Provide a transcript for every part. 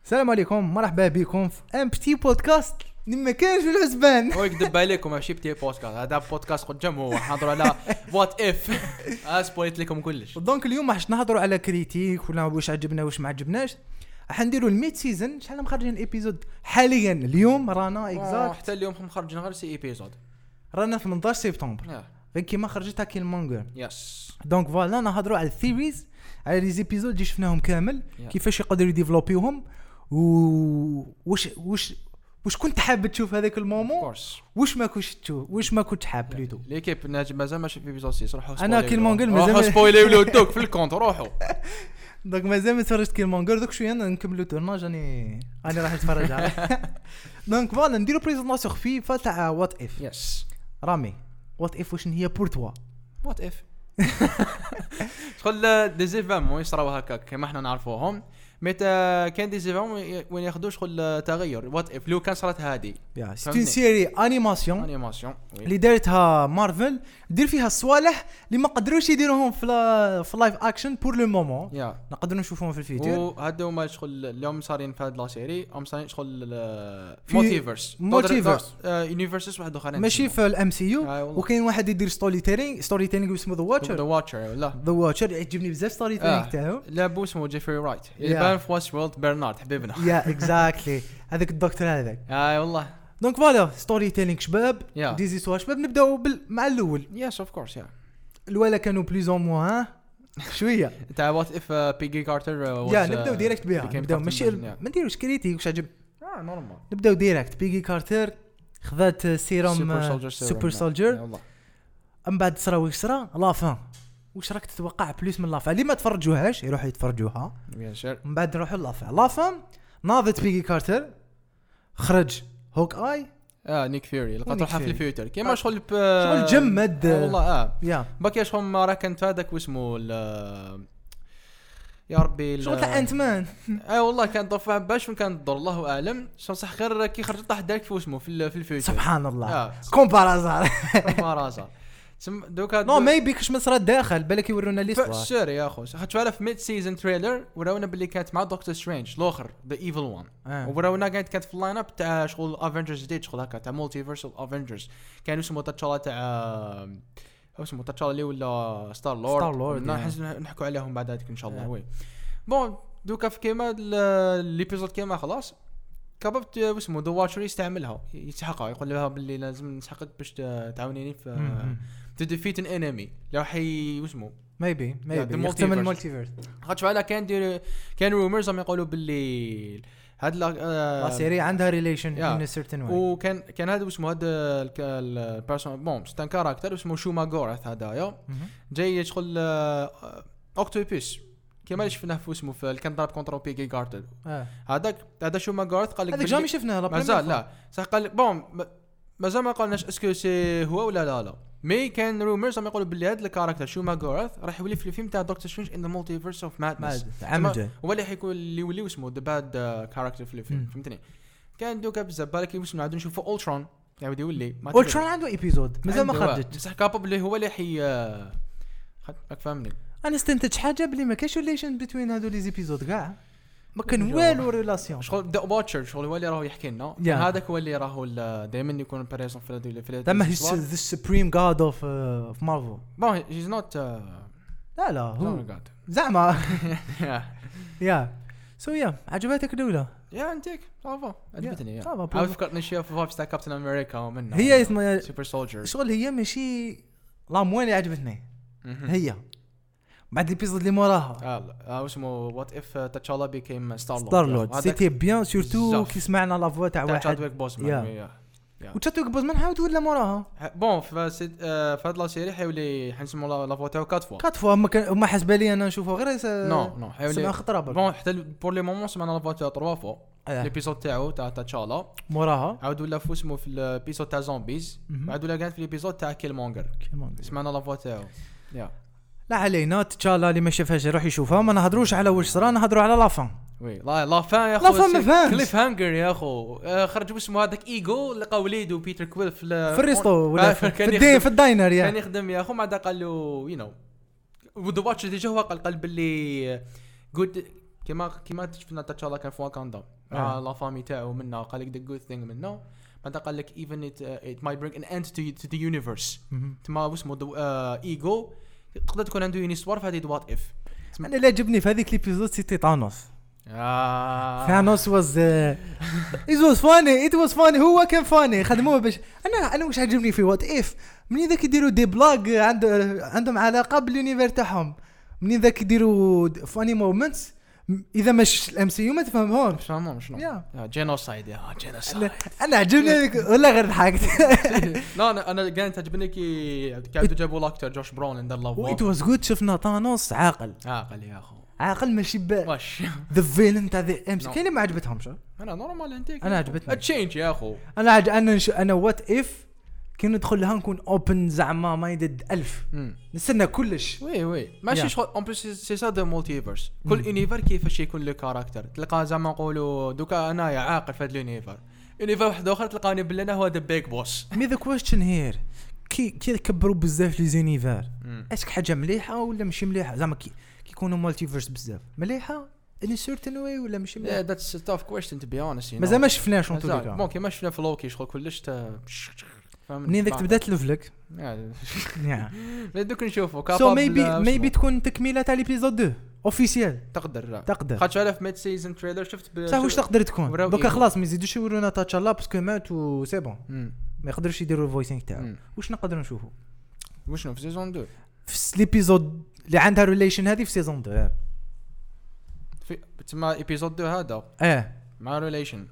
السلام عليكم، مرحبا بكم في ام بتي بودكاست ما كانش في الحسبان. هو يكذب عليكم ماشي بتي بودكاست، هذا بودكاست قدام هو نهضروا على وات اف. سبويلت لكم كلش. دونك اليوم راح نهضروا على كريتيك ولا واش عجبنا واش ما عجبناش. راح نديروا الميد سيزون. شحال مخرجين الابيزود حاليا؟ اليوم رانا اكزاكت حتى اليوم مخرجين غير سي ايبيزود، رانا 18 سبتمبر غير كيما خرجتها كيل مانجر. يس دونك فوالا نهضروا على الثيريز، على لي زيبيزود اللي شفناهم كامل، كيفاش يقدروا يديفلوبيوهم واش كنت حاب تشوف هذاك المومون، واش ما كنتش تشوف، واش ما كنت حاب بليتو. ليكيب مازال ماشي في ايبيزود 6. روحوا انا كيل مانجر مازال سبويلي ولو دوك في الكونت روحوا. دونك مازال ما تفرجت كيل مانجر، دوك شويه نكملوا تورناج. انا راح نتفرج على دونك فوالا نديروا بريزونطاسيون خفيفه تاع وات اف. يس رامي، وات اف واش هي بور توا؟ وات اف شغل دي زيفام يصراو هكا كما احنا نعرفوهم، متى كان دي زيفام وين ياخذوا شغل تغير. وات اف لو كان صارت هذه سي سيري انيماسيون اللي دارتها مارفل، دير فيها الصوالح اللي ما قدروش يديروهم في لايف اكشن بور لو مومون، نقدروا نشوفوهم في الفيتور. وهذا هما شغل اليوم صارين في هذه لا سيري، هم صارين شغل موتيفرس يونيفرسز واحد اخرين ماشي في الام سي يو. وكاين واحد يدير ستوري تيلينغ اسمه ذا واتشر ولا ذا واتشر، يعجبني بزاف ستوري تيلينغ تاعو. لا بو اسمه جيفري رايت يبان في واست وورلد برنارد حبيبنا. يا اكزاكتلي هذاك الدكتور هذاك. والله. دونك فوالا ستوري تيلينغ شباب، ديزي سوا شباب. نبداو مع الاول. يس اوف كورس. الولا كانوا بليزون موا شويه تاع وات اف بيجي كارتر. نبداو ديريكت بها، نبداو ماشي ما نديروش كريتيك واش عجب. نورمال. نبداو ديريكت. بيجي كارتر خذات سيروم سوبر سولجر. من بعد صرا واش صرا لافان. واش راك تتوقع بلوس من لافان؟ اللي ما تفرجوهاش يروحوا يتفرجوها من بعد نروحوا لافان. ناضت بيجي كارتر، خرج هوك اي نيك فيوري لقى تروح في الفيوتر كيما شغل جمد والله. باقي شغل ما راه كانت هذاك واسمه يا ربي شغل تاع انت مان. والله كان ضفها باش كان الدور الله اعلم. صح غير كي خرجت طاح داك في اسمه في الفيوتر. سبحان الله. كومبارازار دوكا نو ميبي كش من صرا داخل بالك يورونا لي صوره سير يا اخو. خاطر على في ميد سيزون تريلر وراونا باللي كانت مع دكتور سترينج الاخر ذا ايفل وان، وراونا كانت في اللاين اب تاع شغل افنجرز جديد شغل هكا تاع مولتيفيرسال افنجرز. كان اسمه تاتشالا تاع اسمه تاتشالا اللي ولا ستار لورد. نحكوا عليهم بعد هذيك ان شاء الله. وي بون دوكا في كيما ليبيزود كيما خلاص كابت اسمه ذا واتشر يستعملها يسحقها، يقول لها باللي لازم نسحقك باش تعاونيني في تدفيت ان انمي لو حي واسمه ميبي يختم المولتيفيرس. خاطر على كان رومرز هم يقولوا باللي هاد لا سيري عندها ريليشن ان سيرتن واي. وكان هذا اسمه هذا البيرسون بوم ستان كاركتر اسمه شوماغورث هذايا جاي يدخل اوكتوبيس كيما اللي شفناه في اسمه في كان ضرب كونتر بيجي كارتر. هذا شو ماغارث قال لك هذاك جامي شفناه مازال لا صح. قال بون مازال ما قالناش اسكو سي هو ولا لا مي كان رومرز هم يقولوا باللي هذا الكاركتر شو ماغارث راح يولي في الفيلم تاع دكتور سترينج ان ذا مولتيفيرس اوف مادنس هو اللي حيكون اللي يولي اسمه ذا باد كاركتر في الفيلم. فهمتني؟ كان دوكا بزاف بالك واش نعاودو نشوفوا اولترون يعاود يولي اولترون عنده ايبيزود مازال ما خرجت بصح كابابل اللي هو اللي حي فهمني. انا استنتج حاجه بلي ما كاينش ريليشن بين هادو لي زيبيزود كاع ما كان والو ريلاسيون. شغل ذا واتشر شغل هو اللي راهو يحكي لنا هذاك هو اللي راهو دائما يكون باريزون في تما ذا سوبريم جاد اوف مارفل. بون هيز نوت لا هو زعما يا سو عجبتك الاولى؟ انتك صافا عجبتني. عاود فكرتني شويه في فايبس تاع كابتن امريكا ومنها هي اسمها سوبر سولجر. شغل هي ماشي لا موين اللي عجبتني هي بعد الابيزود اللي موراها اسمه وات اف تاتشالا بيكيم ستار لورد. سيتي بيان سورتو كي سمعنا لا فوا تاع واحد تشادويك بوزمان. وتشادويك بوزمان حاول ولا موراها بون في هاد لا سيري حيولي حنسمو لا فوا تاعو 4 فوا ما حسب لي انا نشوفه غير نو حيولي خطره بون حتى بور لي مومون سمعنا لا فوا تاعو 3 فوا الابيزود تاعو تاع تاتشالا موراها عاود ولا في اسمه في الابيزود تاع زومبيز عاود ولا كانت في الابيزود تاع كيل مونجر سمعنا لا فوا تاعو. لا علينا تشالا اللي ما شافهاش يروح يشوفها. ما نهضروش على واش صرا نهضروا على لافان. وي لافان يا اخو كليف هانجر يا اخو. خرج اسمه هذاك ايجو لقى وليدو بيتر كويل في الريستو ولا في الداينر كان يخدم يا اخو. بعد قال له ذا واتش ديجا هو قال باللي جود كيما شفنا تاتشالا كان في واكاندا مع لا فامي تاعو منه قال لك the good thing منه بعد قال لك even it might bring an end to the universe تما اسمه ايجو تقدر تكون عنده يونيسوار في هذه وات اف. انا اللي عجبني في هذيك ليبيزود سيتي تانوس. ثانوس was it was funny هو كان فاني خدموه باش انا واش عجبني في وات اف منين ذاك يديروا دي بلاغ عندهم علاقه باليونيفير تاعهم منين ذاك يديروا فاني مومنتس اذا مش الام سي يو ما تفهمهمش شنو يا جينوسايد يا جينوسايد. انا عجبني ولا غير ضحكت. لا انا كانت تعجبني كي كانوا جابوا الاكتر جوش برولين دار لاف ويت واز جود. شفنا ثانوس عاقل يا اخو عاقل ماشي واش ذا فيلن تاع ذا ام سي كاين ما عجبتهمش. انا نورمال انتيك انا عجبتني تشينج يا اخو. انا وات اف كي ندخل لها نكون اوبن زعما ما يدد 1000 نستنى كلش. وي ماشي شغل اون بليس سي سا دو مولتيفيرس كل يونيفر كيفاش يكون لو كاركتر تلقى زعما نقولوا دوكا انايا عاقل في هذا اليونيفر واحد اخر تلقاني بلي انا هو ذا بيج بوس. مي ذا كويستشن هير كي كبروا بزاف لي زونيفر اسك حاجه مليحه ولا ماشي مليحه زعما كي يكونوا مالتيفيرس بزاف مليحه in a certain way ولا ماشي مليحه. that's a tough question to be honest مازال ما شفناش اون طوليكا بون كي ما شفنا في لوكي شغل كلش منين ذاك بدات لفلك يا دوك نشوفوا سو ميبي تكون تكمله تاع ليبيزود 2 اوفيسيال تقدر خاطش عارف ميد سيزون تريلر شفت صح واش تقدر تكون دوكا خلاص ما يزيدوش يورونا تاتشالا باسكو مات و سي بون ما يقدرش يديروا الفويسينغ تاعو. واش نقدروا نشوفوا وشنو في سيزون 2 في ليبيزود اللي عندها ريليشن هذه في سيزون 2 في تما ايبيزود 2 هذا مع ريليشن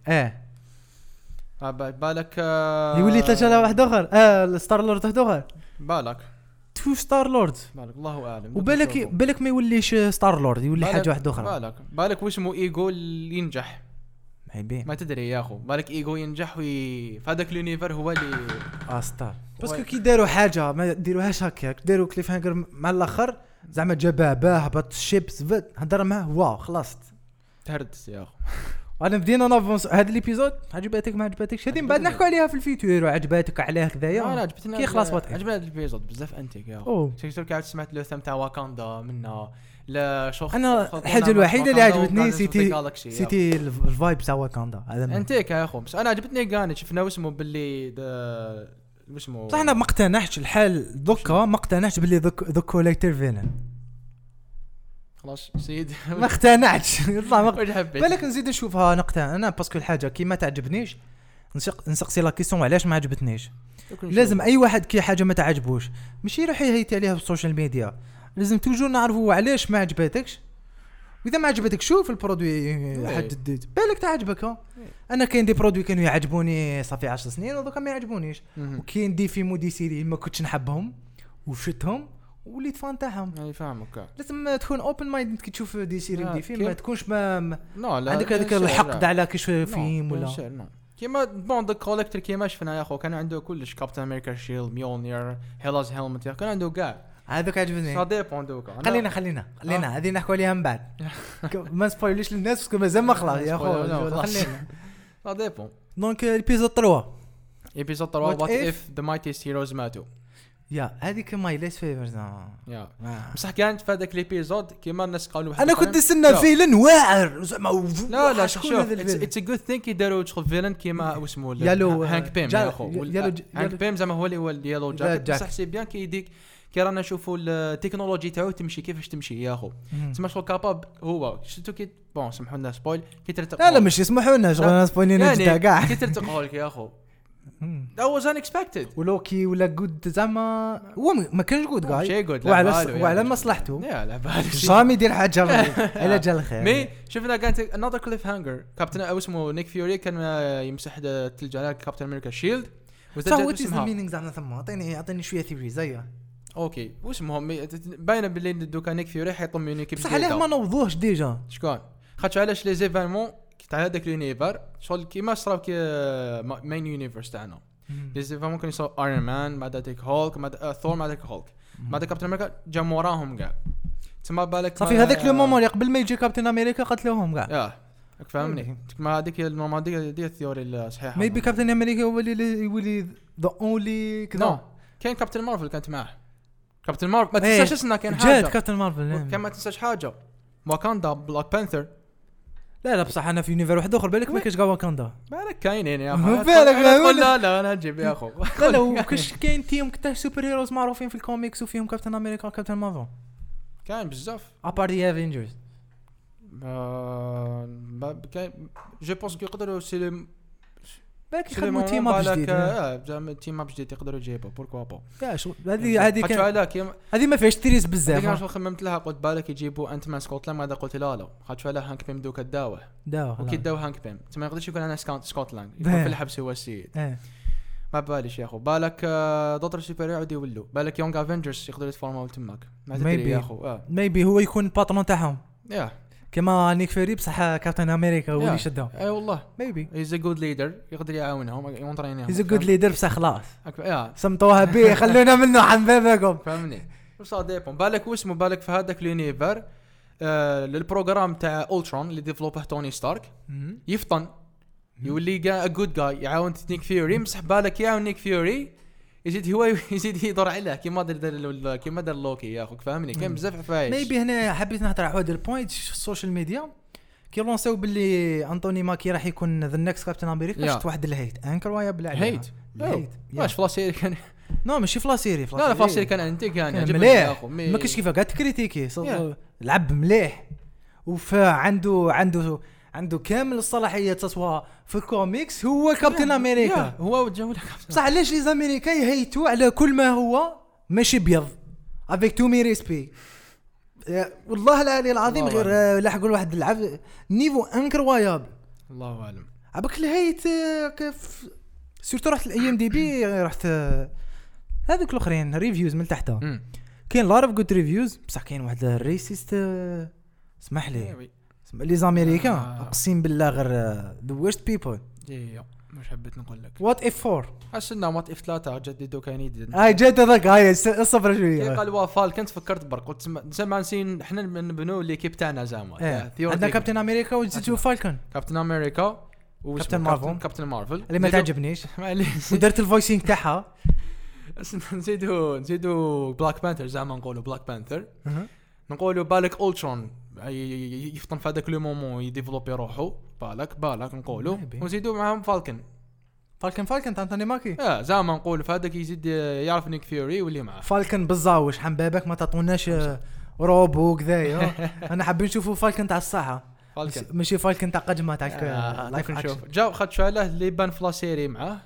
بالك يولي تاجلا واحد اخر الستار لورد واحد اخر بالك تو ستار لورد بالك الله اعلم وبالك ما يوليش ستار لورد يولي حاجه واحده اخرى. بالك واسمه ايجو اللي ينجح ما تدري يا اخو بالك ايجو ينجح في هذاك اليونيفر هو اللي ستار باسكو كي داروا حاجه ما ديروهاش هكاك داروا كليف هانجر مع الاخر زعما جابه هبط شيبس هضر معاه واو خلاص تهردت يا اخو. انا بدينا نافونس هذا الابيزود عجبتك ما عجبتكش هذه من بعد نحكوا عليها في الفيتور وعجبتك عليه كذايا. انا عجبتني كي خلاص عجبني هذا الابيزود بزاف انتيك يا اخو. شفتو كاع سمعت له ثم تاع واكاندا منها لا شوف انا الحاجه الوحيده اللي عجبتني سيتي الفايب تاع واكاندا هذا انتيك يا اخو. بس انا عجبتني كان شفنا اسمه باللي اسمه صح. انا ما اقتنعتش الحال دوكا ما اقتنعتش باللي ذا كوليكتور فينن خلاص سيد ما اقتنعتش يطلع ما بالك نزيد نشوفها نقتنع انا باسكو الحاجه كي ما تعجبنيش نسقسي لا كيسيون علاش ما عجبتنيش. لازم اي واحد كي حاجه ما تعجبوش ماشي يروح يهيت عليها في السوشيال ميديا لازم توجور نعرفوا علاش ما عجبتكش واذا ما عجبتك شوف البرودوي حدد بالك تعجبك. انا كاين دي برودوي كانوا يعجبوني صافي 10 سنين ودوكا ما يعجبونيش وكاين دي فيلم ودي سيري ما كنتش نحبهم وشتهم وليت فان تاعهم. اي فاهمك. لازم تكون اوبن مايند كي تشوف دي سيري دي فيلم ما تكونش ما لا عندك هذاك الحقد على كيش فيلم ولا كيما بون ذا كوليكتور كيما شفنا يا اخو كان عنده كلش كابتن امريكا شيلد ميولنير هيلاز هيلمت كان عنده كاع هذوك عجبني. صديق بوندوكا خلينا هذه نحكوا عليها من بعد ما سبويلش للناس باسكو مازال ما خلاص يا اخو خلينا صديق. دونك الابيزود 3 وات اف ذا مايتيست هيروز ماتوا يا هذيك ماي ليس فيفرز يا بصح كانت في هذاك الابيزود كيما الناس قالوا انا كنت نستنى فيلن واعر زعما لا شوف اتس ا جود ثينك يداروا شغل فيلن كيما اسمه هانك بيم يا اخو هانك بيم زعما هو اللي هو اليلو جاك بصح سي بيان كي يديك كي رانا نشوفوا التكنولوجي تاعو تمشي كيفاش تمشي يا اخو تسمى شغل كاباب هو شفتو كي بون سمحوا لنا سبويل كي ترتقوا لا مش يسمحوا لنا شغل سبويلين جدا كاع كي ترتقوا لك يا اخو that was unexpected ولوكي ولا جود زعما هو ما كانش جود قاي شي جود وعلى مصلحته لا لا بالك صامي يدير حاجه على جال الخير. مي شفنا كانت another cliffhanger كابتن اسمه نيك فيوري كان يمسح الثلج على كابتن امريكا شيلد وات از مينينغ زعما ثم اعطيني شويه ثيوري زيها اوكي واسمهم باينه باللي دوكا نيك فيوري حيطم يونيك بصح عليه ما نوضوهش ديجا شكون خاطر علاش لي زيفينمون تاع هذاك اليونيفر شغل كيما صراو كي مين يونيفرس تاعنا لي زيفينمون ممكن يصير ايرون مان بعد ديك هولك بعد ثور بعد ديك هولك بعد كابتن امريكا جا موراهم كاع تما بالك صافي هذاك لو مومون قبل ما يجي كابتن امريكا قتلوهم كاع فهمني ما هذيك المومون دي الثيوري الصحيحه ميبي كابتن امريكا هو اللي يولي ذا اونلي كذا كاين كابتن مارفل كانت معه كابتن مارفل ما تنساش اسمه كان حاجه كابتن مارفل كان ما تنساش حاجه واكاندا بلاك بانثر لا بصح انا في يونيفر واحد اخر بالك ما كاينش كاع واكاندا بالك كاينين يا اخو بالك لا انا نجيب يا اخو لا كاش كاين تيم تاع سوبر هيروز معروفين في الكوميكس وفيهم كابتن امريكا وكابتن مارفل كاين بزاف ابار دي افنجرز جو بونس يقدروا سي بالك يخدموا تيم اب جديد زعما تيم اب جديد يقدروا يجيبوا بوركوا با هذه ما فيهاش تريس بزاف انا خممت لها قلت بالك يجيبوا انت مان سكوتلاند ما قلت لا خاطر فعلا هانك بيم دوك داوه وكي داو هانك بيم ما يقدرش يكون انا سكوتلاند يكون في الحبس هو السيد ما باليش يا اخو بالك دوتر سوبر يعود يولوا بالك يونغ افنجرز يقدروا يتفورموا تماك ما تدري يا اخو ميبي هو يكون الباترون تاعهم يا كما نيك فيري بصح كابتن امريكا هو اللي شدهم اي والله ميبي هيز ا جود ليدر يقدر يعاونهم يونطرينيهم هيز ا جود ليدر بصح خلاص سمطوها به خلونا منه حنبابكم فهمني بصح ديبون بالك واسمه بالك في هذاك اليونيفر للبروغرام تاع اولترون اللي ديفلوبه توني ستارك يفطن يولي ا جود جاي يعاون نيك فيوري مسح بالك يعاون نيك فيوري يزيد يدور عليه كيما دار لوكي يا اخوك فاهمني كان بزاف حفايش ميبي هنا حبيت نهضر على واحد البوينت السوشيال ميديا كي لونساو باللي انطوني ماكي راح يكون ذا نيكست كابتن امريكا شفت واحد الهيت انكرويابل عليه هيت واش فلاسيري كان نو ماشي فلاسيري لا فلاسيري كان انت كان عجبني يا اخو ما كاينش كيفاه قاعد تكريتيكي لعب مليح عنده كامل الصلاحيات سواء في الكوميكس هو كابتن امريكا هو وجهه لك بصح علاش لي امريكا يهيتوا على كل ما هو ماشي بيض افيك تو مي ريسبي والله العلي العظيم غير لحقوا واحد اللعب نيفو انكرويابل الله اعلم عبك الهيت كيف سورتو رحت الاي دي بي رحت هذوك الاخرين ريفيوز من تحت كاين لارف جود ريفيوز بصح كاين واحد الريسيست اسمح لي لي زاميريكان اقسم بالله غير ذا ورست بيبل مش حبيت نقول لك وات اف 4 حسنا وات اف 3 جددوا كاين يديد جد هذاك هاي الصبر شويه قال فالكن تفكرت برك قلت زعما نسين احنا نبنوا ليكيب تاعنا زعما عندنا كابتن امريكا وزيدوا فالكن كابتن امريكا كابتن مارفل اللي ما تعجبنيش ودرت الفويسينغ تاعها نزيدوا بلاك بانثر زعما نقولوا بلاك بانثر نقولوا بالك اولترون يفطن في هذاك لو مومون يديفلوبي روحو بالك نقولوا ونزيدوا معهم فالكن تاع انتوني ماكي زعما نقول في هذاك يزيد يعرف نيك فيوري واللي معاه فالكن بالزاوش حنبابك ما تعطوناش روبو وكذا انا حابين نشوفوا فالكن تاع الصحه ماشي فالكن تاع قجمه تاع لايف نشوف جاو خد شاله اللي بان في لا سيري معاه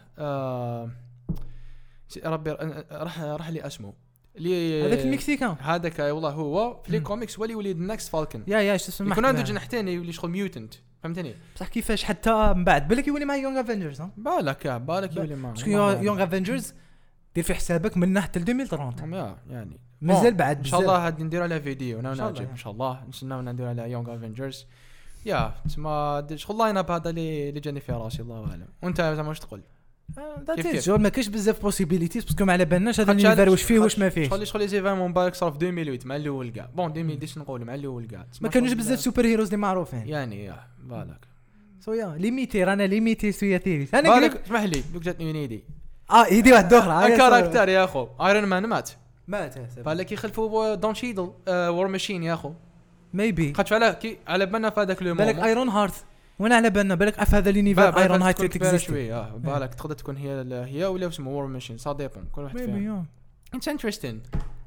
ربي راح لي اسمه اللي هذاك المكسيكان هذاك والله هو في لي كوميكس ولي وليد النكست فالكن يا شو اسمه يكون عنده جناحتين يولي شغل ميوتنت فهمتني بصح كيفاش حتى من بعد بالك يولي مع يونغ افنجرز بالك يولي مع يونغ افنجرز دير في حسابك من حتى 2030 يعني مازال بعد ان شاء الله غادي نديروا على فيديو انا وناجب ان شاء الله نستناو نديروا على يونغ افنجرز تسمى شغل لاين اب هذا اللي جاني في راسي الله اعلم وانت زعما واش تقول كيف ما كاينش بزاف بوسيبيليتيز باسكو ما على بالناش هذا اليونيفر واش فيه واش ما فيه شغل زي فان بالك صار في 2008 مع الاول كاع 2010 نقولوا مع الاول كاع ما كانوش بزاف سوبر هيروز اللي معروفين يعني بالك سويا ليميتي رانا ليميتي سويا تيري انا بالك اسمح لي دوك جاتني يدي يدي واحد اخرى كاركتر يا اخو ايرون مان مات بالك يخلفوا دون شيدل وور ماشين يا اخو ميبي خاطر على بالنا في هذاك لو بالك ايرون هارت وين على بالنا بالك في هذا اليونيفر ايرون هارت تكزيست بالك تقدر تكون هي ولا اسمه وور ماشين صا ديبون كل واحد فيها انت انتريستين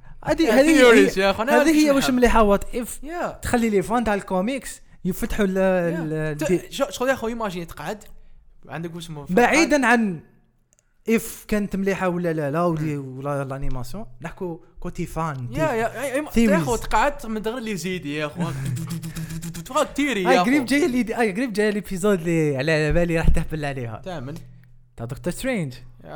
هذه هي واش مليحه وات اف تخلي لي فان تاع الكوميكس يفتحوا شغل يا اخو ايماجين تقعد عندك اسمه بعيدا عن اف كانت مليحه ولا لا ولا الانيماسيون نحكوا كوتي فان يا اخو تقعد من دغري اللي يزيد يا اخو تيري يا اخو قريب جاي الابيزود اللي على بالي راح تهبل عليها تامن تاع دكتور سترينج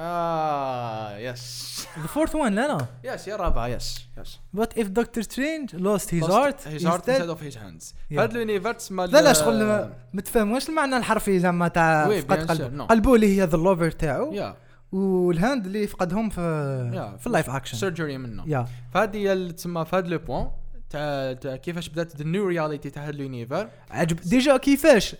يس the fourth one لا يس يا رابعه يس what if Doctor Strange lost his heart instead of his hands هذا اليونيفرس مال لا شغل ما تفهموش المعنى الحرفي زعما تاع فقد قلبه اللي هي the lover تاعو والهاند اللي فقدهم في اللايف اكشن سيرجري منه فهذه تسمى في هذا لو بوين تاع كيفاش بدات النيو رياليتي تاع هذا اليونيفر عجب ديجا كيفاش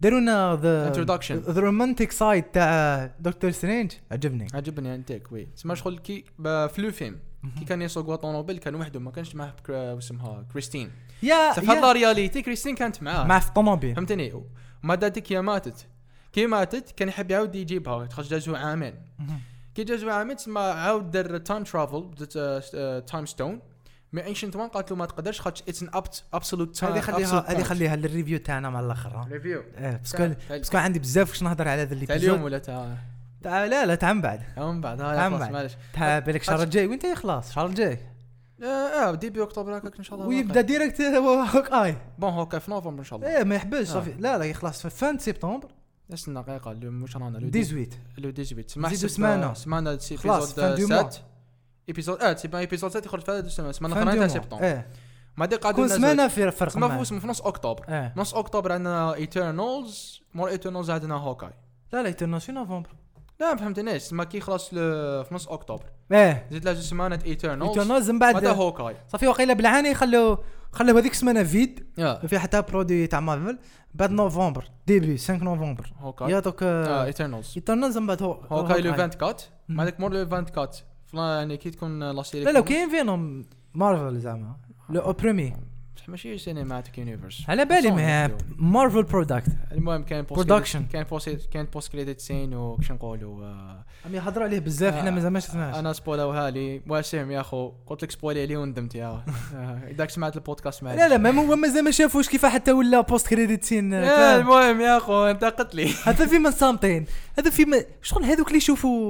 دارونا introduction the romantic side تاع دكتور سترينج. عجبني انتك وي تسمى شغل كي في الفيلم كي كان يسوق طوموبيل كان وحده ما كانش معاه اسمها كريستين يا في لا رياليتي كريستين كانت معاه في الطوموبيل فهمتني وما داتك هي كي ماتت كان يحب يعاود يجيبها خرج جازو عامين كي جازو عامين تسمى عاود دار تايم ترافل تايم ستون مي انشنت وان قالت له ما تقدرش خاطر اتس ان ابسولوت هذه خليها للريفيو تاعنا مع الاخر ريفيو باسكو عندي بزاف واش نهضر على هذا اللي اليوم ولا تاع لا تاع من بعد معليش تاع بالك الشهر الجاي وانت خلاص الشهر الجاي ديبي اكتوبر هكاك ان شاء الله ويبدا ديريكت هوكاي بون هوكاي في نوفمبر ان شاء الله ما يحبش صافي لا يخلص في فان سبتمبر استنى دقيقه مش رانا لو 18 سمح سمانه ايبيزود 7 ايبيزود ايبيزود 7 يخرج في هذا السنه اخرى تاع سبتمبر ما دي قاعدين كل سمانه في فرق ما في نص اكتوبر نص اكتوبر عندنا ايترنالز ايترنالز عندنا هوكاي لا ايترنالز في نوفمبر لا فهمتنيش ما كي خلاص في نص اكتوبر زيد لازم سمانه ايترنالز من بعد هوكاي صافي وقيله بالعاني خلوا هذيك السمانه فيد ما في حتى برودوي تاع مارفل بعد نوفمبر ديبي 5 نوفمبر هوكاي يا دوك ايترنالز من بعد هوكاي ليفنت كات مالك مور ليفنت كات يعني كي تكون لا سيري لا لو كاين فينوم مارفل زعما لو بريمي ماشي سينماتيك يونيفرس على بالي ما مارفل برودكت المهم كان برودكشن كان بوست كريديت سين وكش نقولوا عم يهضروا عليه بزاف احنا مازال ما شفناش انا سبويلوها لي واسم يا اخو قلت لك سبويلي لي وندمت يا اذا سمعت البودكاست معي لا ما هو مازال ما شافوش كيف حتى ولا بوست كريديت سين المهم يا اخو انت قلت لي هذا في من صامتين هذا في شغل هذوك اللي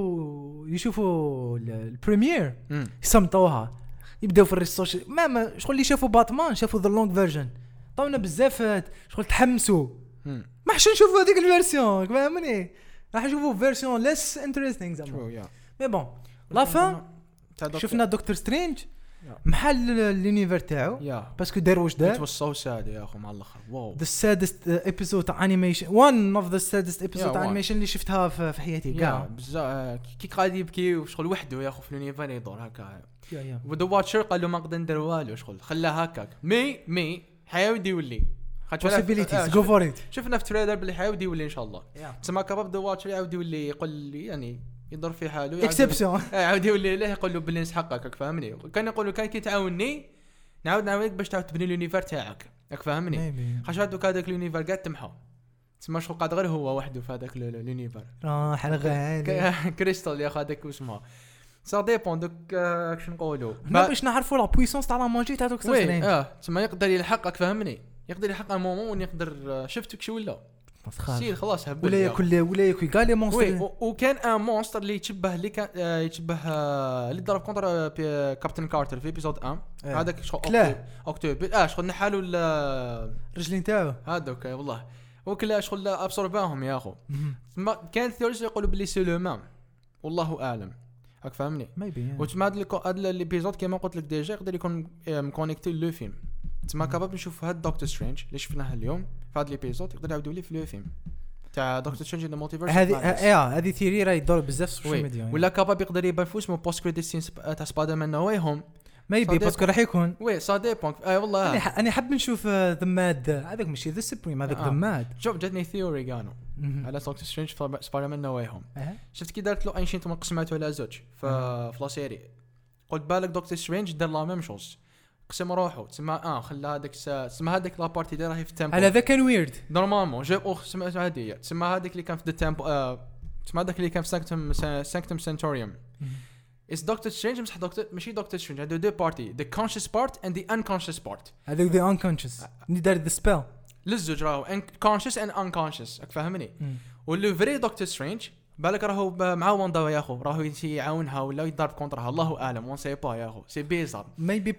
يشوفوا البريمير يصمتوها يبداو في الريسوش ما شغل اللي شافوا باتمان شافوا ذا لونج فيرجن طونا بزاف شغل تحمسوا ما حش نشوفوا هذيك الفيرسيون فهمني راح نشوفوا فيرسيون ليس انتريستينغ زعما مي بون لا فان شفنا دكتور سترينج محل اليونيفر تاعو باسكو دار واش دار توصوا ساد يا اخو مع الاخر واو ذا سادست ابيسود تاع انيميشن وان اوف ذا سادست ابيسود تاع انيميشن اللي شفتها في حياتي كاع بزاف كي قاعد يبكي وشغل وحده يا اخو في اليونيفر يدور هكا وذا واتشر قال له ما نقدر ندير والو شغل خلاه هكاك مي حيودي يولي possibilities go for it شفنا في تريلر باللي حيودي يولي ان شاء الله تسمى كباب ذا واتشر يعاود يولي يقول لي يعني يضر في حاله اكسبشن يعاود يولي له يقول له باللي نسحقك فاهمني كان يقول له كان كي تعاوني نعاودك باش تعاود تبني اليونيفر تاعك فاهمني خاطر هذاك اليونيفر قاعد تمحى تسمى شغل قاعد غير هو وحده في هذاك اليونيفر حلقه هذه كريستال يا اخي هذاك واسمها سا ديبون دوك اش نقولوا باش نعرفوا لا بويسونس تاع لا ماجي تاع دوك سنين تسمى يقدر يلحقك فاهمني يقدر يلحق المومون يقدر شفتك شو ولا سير خلاص هبل ولا ياكل كاع لي مونستر وكان ان مونستر اللي يشبه اللي كان يشبه اللي ضرب كونتر كابتن كارتر في ايبيزود 1 هذاك شغل اكتوبر شغل نحالو الرجلين تاعو هذوك والله وكلا شغل ابسورباهم يا اخو كان ثيوريز يقولوا باللي سي لو مام والله اعلم راك فاهمني وتما هذا الابيزود كما قلت لك ديجا يقدر يكون مكونيكتي لو فيلم تما كاباب نشوف هاد دكتور سترينج اللي شفناه اليوم في هذا الابيزود يقدر يعاودوا لي في لو فيلم تاع دكتور سترينج ان مالتيفيرس هذه ثيوري راهي تدور بزاف في السوشيال ميديا ولا كاباب يقدر يبان في اسمه بوست كريديت سين تاع سبايدر مان نو واي هوم ميبي باسكو راح يكون سا ديبون والله انا حاب نشوف ذا ماد هذاك ماشي ذا سوبريم هذاك ذا ماد شوف جاتني ثيوري كانوا على دكتور سترينج في سبايدر مان نو واي هوم شفت كي دارت له اين شيء قسمته على زوج في لا سيري قلت بالك دكتور سترينج دار لا ميم شوز قسم روحو تسمى خلى هذاك تسمى هذيك لا بارتي اللي راهي في التيمبل على ذا كان ويرد نورمالمون جاب تسمى هذه تسمى هذاك اللي كان في التيمبل تسمى هذاك اللي كان في سانكتوم سنتوريوم is Doctor Strange مش دكتور ماشي دكتور سترينج عنده دو بارتي the conscious part and the unconscious part هذاك the unconscious ندير the spell للزوج راهو conscious and unconscious فهمني واللي فري دكتور سترينج بالك راهو مع واندا يا اخو راهو يعاونها ولا يضرب كونترها الله اعلم وون سي با يا اخو سي بيزار ميبي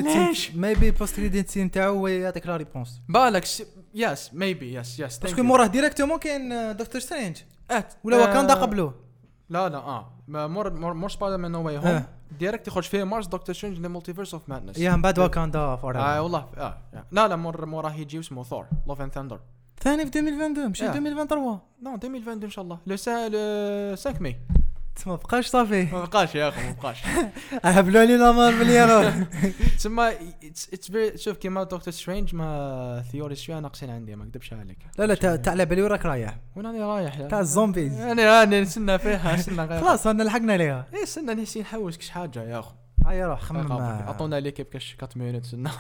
بوست كريديت سين تاعو يعطيك لا ريبونس بالك يس ميبي يس باسكو موراه ديريكتومون كاين دكتور سترينج ولا واكاندا قبله لا مور سبايدر مان نو واي هوم ديريكت يخرج فيه مارس دكتور سترينج ذا مالتيفيرس اوف مادنس من بعد واكاندا فور والله لا مور هيجي اسمه ثور لوف اند ثاندر ثاني في 2022 ماشي 2023 نو 2022 ان شاء الله لو 5 ماي ما بقاش صافي ما بقاش يا اخو ما بقاش هبلوا لنا مليار تسمى اتس فيري شوف كيما دكتور سترينج ما ثيوريز شويه ناقصين عندي ما نكذبش عليك لا تاع على بالي وراك رايح وين راني رايح تاع الزومبيز انا نستنى فيها نستنى خلاص انا لحقنا ليها ايه استنى نسي نحوس كش حاجه يا اخو هيا روح خمم عطونا ليكيب كش 4 مينوت استنى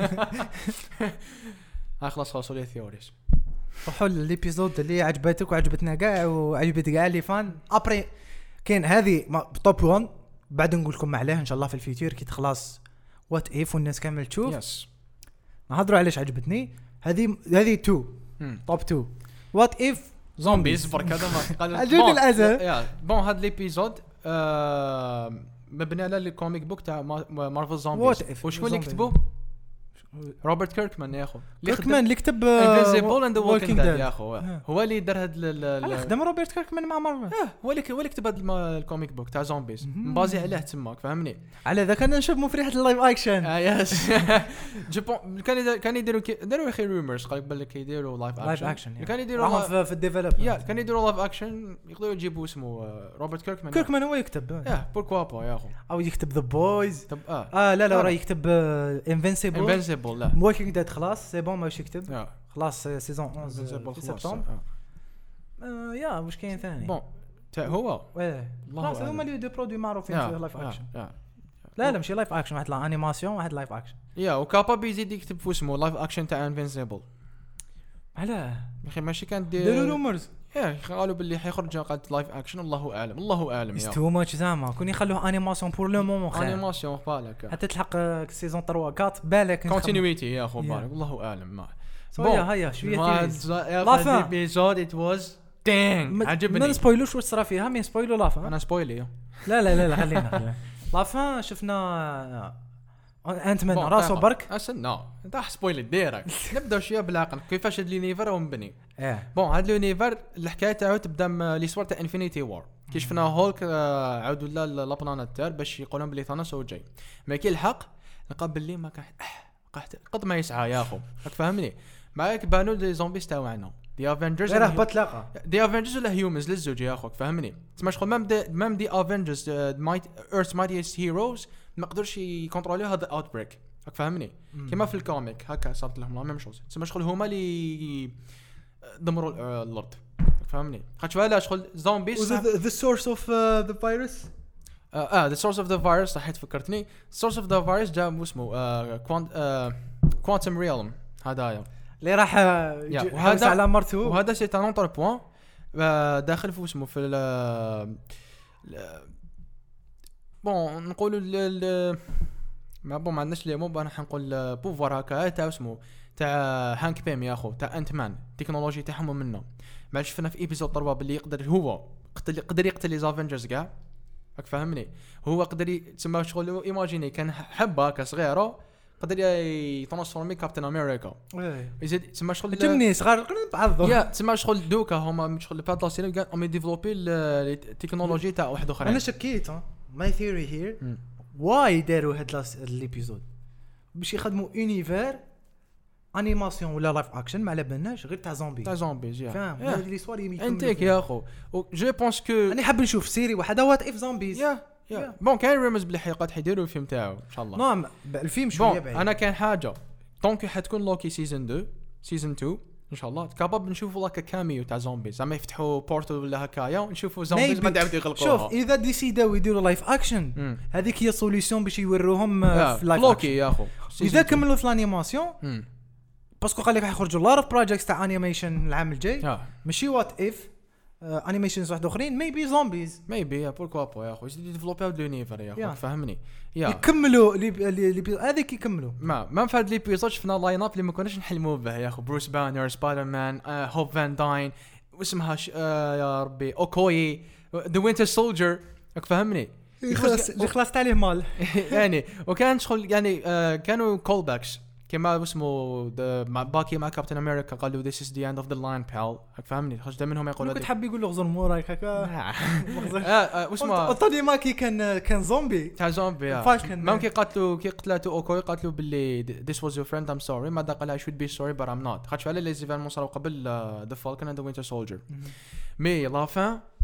خلاص لي ثيوريز روحوا للابيزود اللي عجبتك وعجبتنا كاع وعجبت كاع اللي فان ابري كاين هذه توب 1 بعد نقول لكم عليها ان شاء الله في الفيتور كي تخلص وات اف والناس كامل تشوف يس نهضروا علاش عجبتني هذه 2 توب 2 وات اف زومبيز برك هذا ما عجبني الازل يا بون هذا الابيزود مبني على الكوميك بوك تاع مارفل زومبيز وشكون اللي كتبوه روبرت كيركمان يا اخو كيركمان اللي كتب انفيزيبل اند ذا ووكينج ديد يا اخو هو اللي دار هذا خدم روبرت كيركمان مع مارفل هو اللي كتب هذا الكوميك بوك تاع زومبيز مبازي عليه تماك فهمني على ذا كنا نشوف مفرحه اللايف اكشن يس جوبون كان يديروا خير رومرز قال بالك يديروا لايف اكشن كان يديروا في الديفلوب كان يديروا لايف اكشن يقدروا يجيبوا اسمه روبرت كيركمان هو يكتب بوركوا با يا اخو او يكتب ذا بويز لا راه يكتب انفينسيبل لا موكينج ديد خلاص سي بون ماشي يكتب خلاص سيزون 11 في سبتمبر يا واش كاين ثاني بون هو خلاص هما اللي دو برودوي معروفين في لايف اكشن لا ماشي لايف اكشن واحد لا انيماسيون واحد لايف اكشن وكابا بيزيد يكتب في اسمه لايف اكشن تاع انفينسيبل علاه يا اخي ماشي كان ديروا رومرز قالوا باللي حيخرج قد لايف اكشن الله اعلم يا تو ماتش زعما كون يخلوه انيماسيون بور لو مومون خير انيماسيون بالك حتى تلحق سيزون 3 4 بالك كونتينيوتي يا اخو بالك الله اعلم ما هيا شويه لا ايبيزود ات واز دين عجبني ما نسبويلوش واش صرا فيها مي سبويلو لافا انا سبويلي لا خلينا لافا شفنا انت من راسو برك استنى انت سبويل ديرك نبداو شويه بالعقل كيفاش هاد لونيفر هو مبني بون هاد لونيفر الحكايه تاعو تبدا ليسوار تاع انفينيتي وار كي شفنا هولك عاودوا لا بلانيت تير باش يقولون بلي ثانوس هو جاي ما كي الحق لقى باللي ما كان قد ما يسعى يا اخو راك فاهمني معاك بانوا لي زومبيز تاعنا دي افنجرز راه بتلاقى دي افنجرز ولا هيومنز للزوج يا اخوك فهمني تسمى شغل مام دي افنجرز مايت ايرث مايتيست هيروز ما قدرش يكونتروليو هذا اوت بريك راك فهمني كيما في الكوميك هكا صارت لهم لا ميم شوز تسمى شغل هما اللي دمروا الارض فهمني خاطش ولا شغل زومبيز ذا سورس اوف ذا فيروس ذا سورس اوف ذا فيروس صحيت فكرتني سورس اوف ذا فيروس جاء اسمه كوانتم ريالم هذايا اللي راح وهذا على مرتو وهذا سي ان اونتر بوين داخل في اسمه في بون نقولوا ما عندناش لي مو راح نقول بوفوار هكا تاع اسمه تاع هانك بيم يا اخو تاع انت مان التكنولوجيا تاعهم منه ما شفنا في ايبيزود 3 باللي يقدر هو قدر يقتل لي زافنجرز كاع راك فاهمني هو قدر تسمى شغل ايماجيني كان حبه كصغيره قدر يترانسفورمي كابتن امريكا يزيد تسمى شغل جمني صغار بعضهم يا تسمى شغل دوكا هما شغل بهاد لاسيري كاع ام ديفلوبي التكنولوجيا تاع واحد اخرين انا شكيت ماي ثيوري هير واي داروا هاد الابيزود باش يخدموا يونيفير انيماسيون ولا لايف اكشن ما على بالناش غير تاع زومبيز يا فاهم هذه لي سوار يميتون انتك يا اخو جو بونس كو انا حاب نشوف سيري واحده وات اف زومبيز يا بون كاين ريمز بلي حقيقات حيديروا الفيلم تاعو ان شاء الله نعم الفيلم شويه بعيد انا كان حاجه دونك حتكون لوكي سيزون 2 ان شاء الله كاباب نشوفوا لك كاميو تاع زومبيز زعما يفتحوا بورتال ولا هكايا ونشوفوا زومبيز ما يعاودوا يغلقوها شوف اذا ديسيداو يديروا لايف اكشن هذيك هي سوليوشن باش يوروهم في لايف لوكي يا اخو اذا كملوا في الانيماسيون باسكو قال لك حيخرجوا لار اوف بروجيكتس تاع انيميشن العام الجاي ماشي وات اف انيميشنز واحد اخرين ميبي زومبيز ميبي يا بوركوا با يا اخو يزيدوا ديفلوبيو لونيفر يا اخو فهمني يكملوا هذيك يكملوا ما في هاد ليبيزود شفنا لاين اب اللي ما كناش نحلموا به يا اخو بروس بانر سبايدر مان هوب فان داين واسمها يا ربي اوكوي ذا وينتر سولجر فهمني خلاص عليه مال يعني وكان شغل يعني كانوا كول باكس كما اسمه باكي مع كابتن امريكا قالوا this is the end of the line pal فهمني خرج منهم يقولوا كنت حاب يقول له غزر موراك هكا اسمه طوني ماكي كان زومبي تاع زومبي ممكن قتلته اوكوي قتلوا باللي this was your friend I'm sorry ما قالها I should be sorry but I'm not خاطش على لي زيفان صاروا قبل the Falcon and the Winter Soldier مي لا فان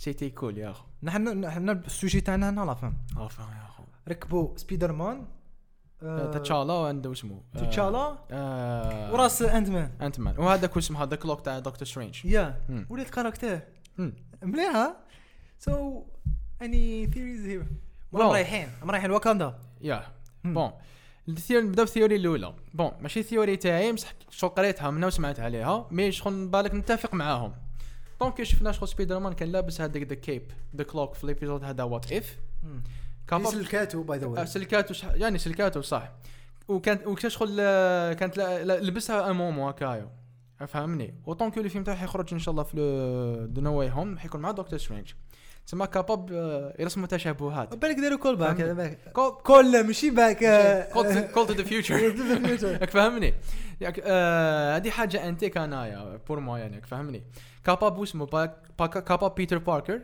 سيتي كول يا اخو. نحن السوجي تاعنا هنا لا فهم يا اخو ركبوا سبايدر مان تشالا وعنده اسمه تشالا وراس انت مان وهذاك اسمه هذا كلوك تاع دكتور سترينج يا وليت كاركتير مليحه. سو اني ثيوريز هير رايحين واكاندا يا بون نبداو الثيوري الاولى. بون ماشي ثيوري تاعي بصح شو قريتها منها وسمعت عليها مي شغل بالك نتفق معاهم. دونك شفنا شغل سبايدر مان كان لابس هذاك ذا كيب ذا كلوك في الابيزود هذا وات اف كان سلكاتو باي ذا واي سلكاتو يعني سلكاتو صح. وكانت شغل كانت لبسها امومو هكايا فهمني. وطونك اللي فهمت راح يخرج ان شاء الله في دو نو واي هوم حيكون مع دكتور سترينج تسمى كاباب يرسموا تشابهات. بالك داروا كول باك كول ماشي باك كول تو ذا فيوتشر فهمني. هذه حاجه انتيك انايا بور ما يعني فهمني. كاباب اسمه كاباب بيتر باركر.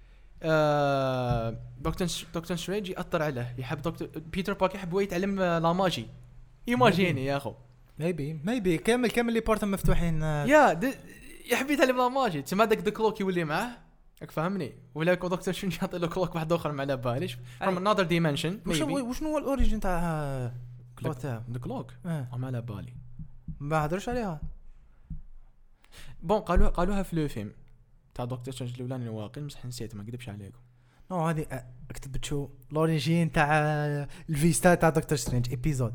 دكتور سترينج يأثر عليه يحب دكتور بيتر باركر يحب يتعلم لا ماجي ايماجيني يا اخو ميبي كامل لي بورتا مفتوحين يا يحب يتعلم لا ماجي تسمى داك الكلوك يولي معاه فهمني. ولا دكتور سترينج يعطي له كلوك واحد اخر ما على باليش from another dimension. وشنو هو الاوريجين تاع كلوك تاع الكلوك ما على بالي ما هضرش عليها. بون قالوها في لو فيلم تاع دكتور سترينج الاولاني الواقع بصح نسيت ما نكذبش عليكم. نو هذه كتبت شو الاوريجين تاع الفيستا تاع دكتور سترينج ايبيزود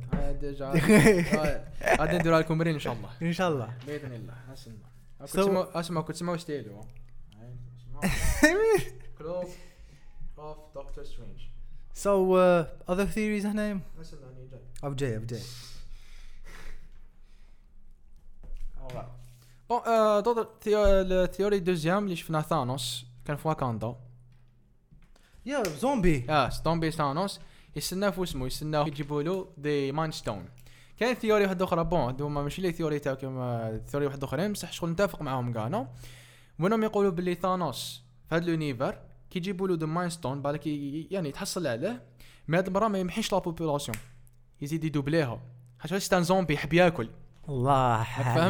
غادي نديرها لكم برين ان شاء الله باذن الله. اسمع كنت سمعوا ستيلو كلوك اوف دكتور سترينج. So other theories هنا of J bon الثيوري دوزيام اللي شفنا ثانوس كان في واكاندا يا زومبي زومبي ثانوس يستنى في اسمه يستنى يجيبوا له دي ماين ستون. كان ثيوري واحده اخرى بون هذوما ماشي لي ثيوري تاع كما ثيوري واحده اخرى بصح شغل نتفق معاهم كاع وانهم يقولوا باللي ثانوس في هذا اليونيفر كي يجيبوا له دي ماين ستون بالك يعني يتحصل عليه مي هذا المره ما يمحيش لا بوبولاسيون يزيد يدوبليها حاجه ستان زومبي يحب ياكل الله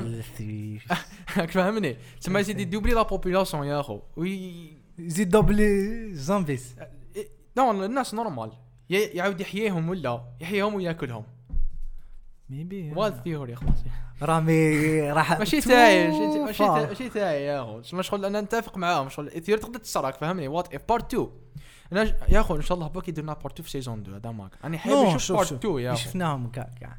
فهمني تسمى يزيد يدوبلي لا بوبولاسيون يا اخو يزيد دوبلي زومبيز. نو الناس نورمال يعاود يحييهم ولا يحييهم وياكلهم ميبي وال ثيوري خلاص رامي راح ماشي تاعي يا اخو ما شغل انا نتفق معاهم شغل الثيوري تقدر تسرك فهمني وات اف بارت 2 انا يا اخو ان شاء الله باك يديرنا بارت 2 في سيزون 2 هذا ماك انا حابب نشوف بارت 2 يا اخو شفناهم كاع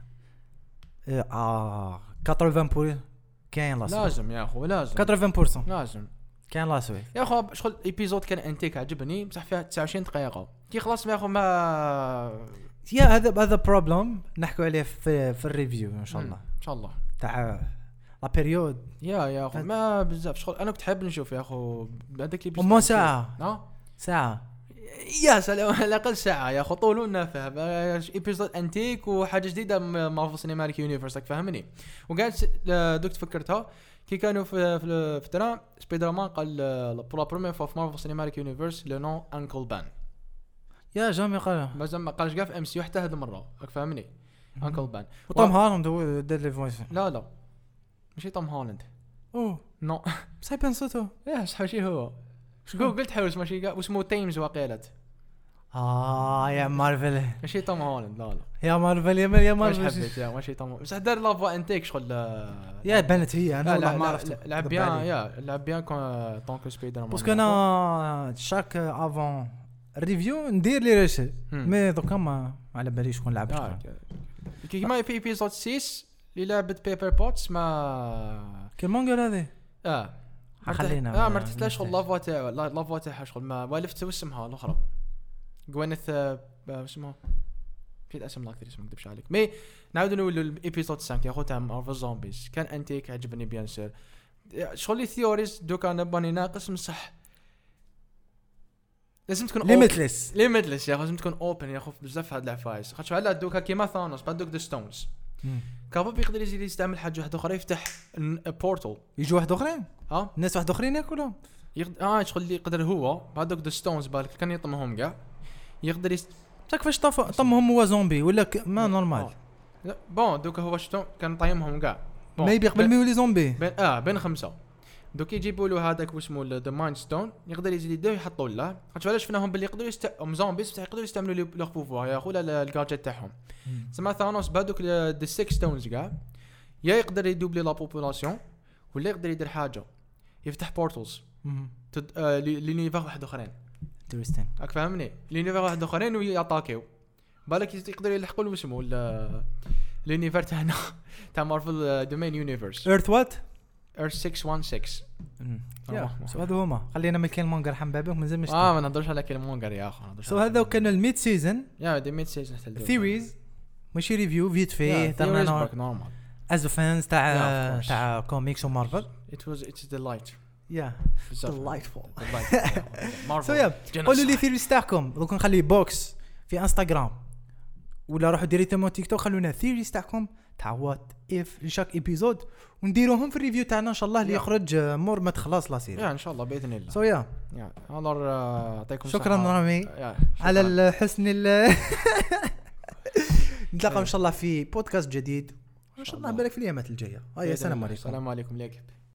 80% كاين لازم يا اخو لازم 80% لازم كان لاسوي يا اخو شغل ايبيزود كان انتيك عجبني بصح فيها 29 دقيقه كي خلاص يا اخو ما يا هذا بروبلم نحكوا عليه في الريفيو ان شاء الله تاع لا بيريود يا اخو ما بزاف شغل انا كنت حاب نشوف يا اخو هذاك الايبيزود ساعه يا سلام على الاقل ساعه يا اخو طولوا لنا فهم ايبيزود انتيك وحاجه جديده مارفل سينماتيك يونيفرس فهمني. وقعدت دوك فكرتها كي كانوا في ترى سبايدر مان قال بور لا بروميير فوا في مارفل سينماتيك يونيفرس لو نو انكل بان يا جامي قال ما قالش كاع في ام سي حتى هذه المره فهمني انكل بان وتوم هالاند هو دار لي فويس لا ماشي توم هالاند نو سايبن صوته يا ماشي هو قلت حوس ماشي كاع واسمه تيمز وقيلت يا مارفل ماشي توم هالاند لا يا مارفل يا مارفل حبيت يا ماشي توم بصح دار لافوا انتيك شغل يا بنت هي انا والله ما عرفت لعب بيان طونك سبايدر مان باسكو انا شاك افون ريفيو ندير لي ريش مي دوكا ما على باليش شكون لعب كيما في ايبيزود 6 اللي لعبت بيبر بوتس ما كي مونغر هذه خلينا ما عرفتلاش شغل لافوا تاعها شغل ما والفت اسمها الاخرى غوينث اسمها في اسم الاكتريس ما نكذبش عليك مي نعاودوا نقولوا الايبيزود 5 يا اخو تاع مارفل زومبيز كان انتيك عجبني بيان سير شغل لي ثيوريز دوكا انا باني ناقص مصح لازم تكون ليميتلس يا اخو لازم تكون اوبن يا اخو بزاف هاد العفايس خاطر على دوكا كيما ثانوس بعد دوك ذا ستونز كاباب يقدر يزيد يستعمل حاجه واحده اخرى يفتح بورتال يجوا واحد اخرين الناس واحد اخرين ياكلهم شغل اللي يقدر هو بعد دوك ذا ستونز بالك كان يطمهم كاع يقدر كيفاش طمهم هو زومبي ولا ما نورمال بون دوكا هو شتو كان طايمهم كاع ما يبي قبل ما يولي زومبي بين 5 دوك يجيبوا له هذاك واسمه ذا مايند ستون يقدر يزيدوه يحطوا له. خاطر علاش شفناهم باللي يقدروا زومبيز يقدروا يستعملوا لو بوفوار يا خويا الجادجت تاعهم. سما ثانوس بهذوك ذا 6 ستونز كاع يا يقدر يدوبلي لا بوبولاسيون ولا يقدر يدير حاجه يفتح بورتلز لونيفر واحد اخرين. انتريستين راك فاهمني لونيفر واحد اخرين وياتاكيو بالك يقدروا يلحقوا له اسمه لونيفر تاعنا تاع مارفل دومين يونيفرس ايرث وات ايرث 616. سو هذا هما خلينا من كاين مونغر حنبابك مازال مش ما نهضرش على كاين مونغر يا اخو. سو هذا كان الميد سيزون يا دي ميد سيزون ثيوريز ماشي ريفيو فيت في درنا نورمال از فانز تاع كوميكس ومارفل. it's delight delightful. سو يا قولوا لي ثيوريز تاعكم دوك نخلي بوكس في انستغرام ولا روحوا ديريكتومون تيك توك خلونا ثيوريز تاعكم تاع وات اف لشاك ايبيزود ونديروهم في الريفيو تاعنا ان شاء الله اللي يخرج مور ما تخلص لا سيري ان شاء الله باذن الله. سو يا الله يعطيكم شكرا رامي على الحسن نتلاقى ان شاء الله في بودكاست جديد ان شاء الله. نبارك في الايامات الجايه. السلام عليكم. السلام عليكم ليك.